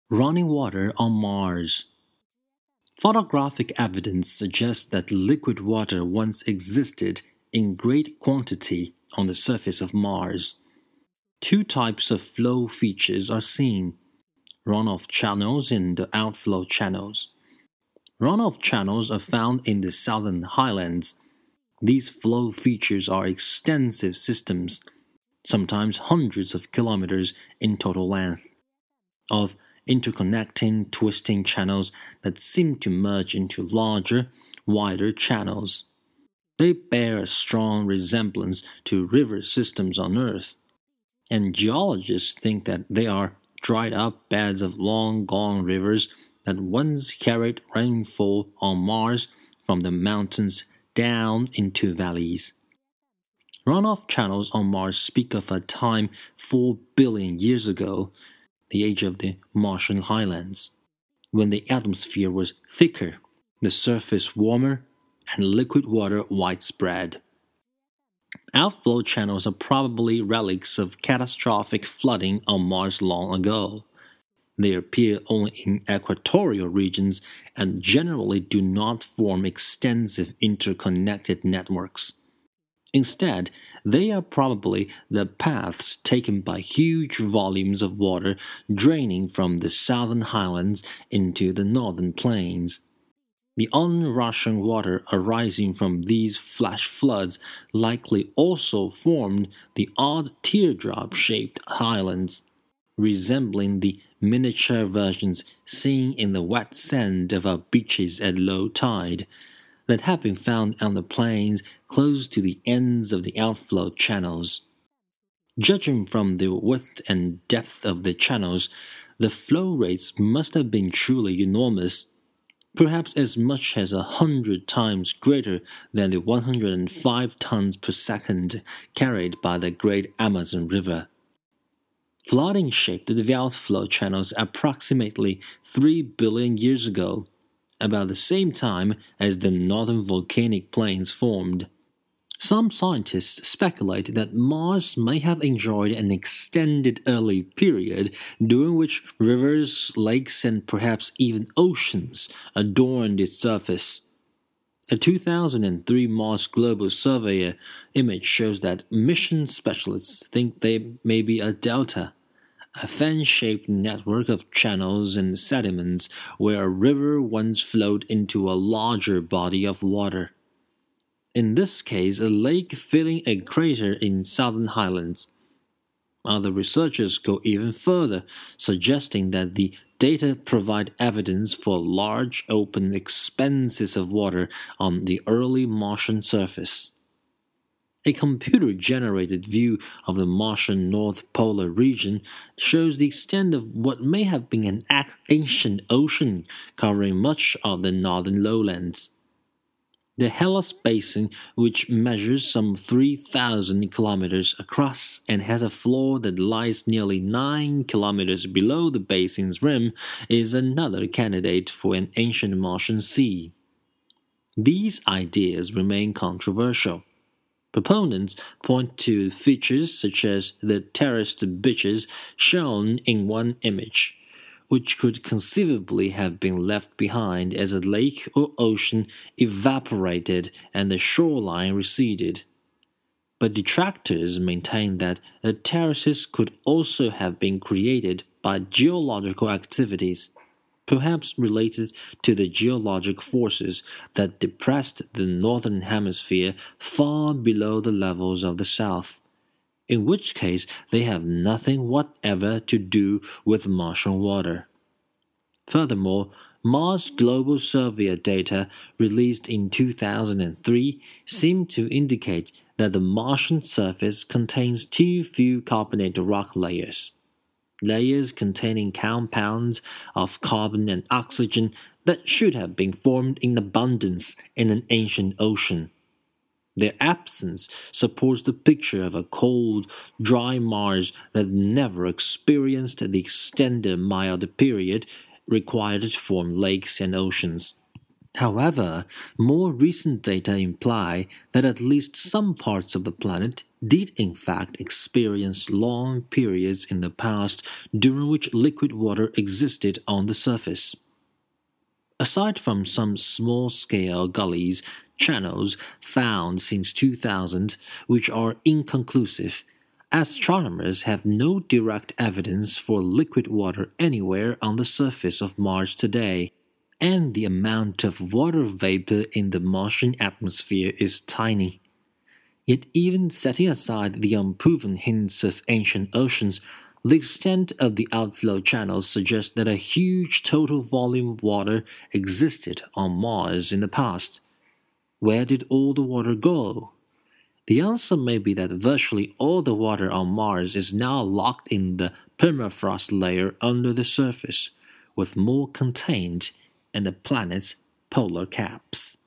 Running water on Mars. Photographic evidence suggests that liquid water once existed in great quantity on the surface of Mars. Two types of flow features are seen: runoff channels and outflow channels. Runoff channels are found in the southern highlands. These flow features are extensive systems, sometimes hundreds of kilometers in total length, of interconnecting, twisting channels that seem to merge into larger, wider channels. They bear a strong resemblance to river systems on Earth, and geologists think that they are dried-up beds of long-gone rivers that once carried rainfall on Mars from the mountains down into valleys. Runoff channels on Mars speak of a time 4 billion years ago, the age of the Martian highlands, when the atmosphere was thicker, the surface warmer, and liquid water widespread. Outflow channels are probably relics of catastrophic flooding on Mars long ago. They appear only in equatorial regions and generally do not form extensive interconnected networks. Instead, they are probably the paths taken by huge volumes of water draining from the southern highlands into the northern plains. The onrushing water arising from these flash floods likely also formed the odd teardrop-shaped highlands, resembling the miniature versions seen in the wet sand of our beaches at low tide, that have been found on the plains close to the ends of the outflow channels. Judging from the width and depth of the channels, the flow rates must have been truly enormous, perhaps as much as 100 times greater than the 105 tons per second carried by the great Amazon River. Flooding shaped the outflow channels approximately 3 billion years ago, about the same time as the northern volcanic plains formed. Some scientists speculate that Mars may have enjoyed an extended early period during which rivers, lakes, and perhaps even oceans adorned its surface. A 2003 Mars Global Surveyor image shows that mission specialists think they may be a delta, a fan-shaped network of channels and sediments where a river once flowed into a larger body of water. In this case, a lake filling a crater in southern highlands. Other researchers go even further, suggesting that the data provide evidence for large open expanses of water on the early Martian surface. A computer-generated view of the Martian North Polar region shows the extent of what may have been an ancient ocean covering much of the northern lowlands. The Hellas Basin, which measures some 3,000 kilometers across and has a floor that lies nearly 9 kilometers below the basin's rim, is another candidate for an ancient Martian sea. These ideas remain controversial. Proponents point to features such as the terraced beaches shown in one image, which could conceivably have been left behind as a lake or ocean evaporated and the shoreline receded. But detractors maintain that the terraces could also have been created by geological activities, perhaps related to the geologic forces that depressed the northern hemisphere far below the levels of the south, in which case they have nothing whatever to do with Martian water. Furthermore, Mars Global Surveyor data released in 2003 seem to indicate that the Martian surface contains too few carbonated rock layers containing compounds of carbon and oxygen that should have been formed in abundance in an ancient ocean. Their absence supports the picture of a cold, dry Mars that never experienced the extended mild period required to form lakes and oceans. However, more recent data imply that at least some parts of the planet, did in fact experience long periods in the past during which liquid water existed on the surface. Aside from some small-scale gullies, channels found since 2000, which are inconclusive, astronomers have no direct evidence for liquid water anywhere on the surface of Mars today, and the amount of water vapor in the Martian atmosphere is tiny. Yet even setting aside the unproven hints of ancient oceans, the extent of the outflow channels suggests that a huge total volume of water existed on Mars in the past. Where did all the water go? The answer may be that virtually all the water on Mars is now locked in the permafrost layer under the surface, with more contained in the planet's polar caps.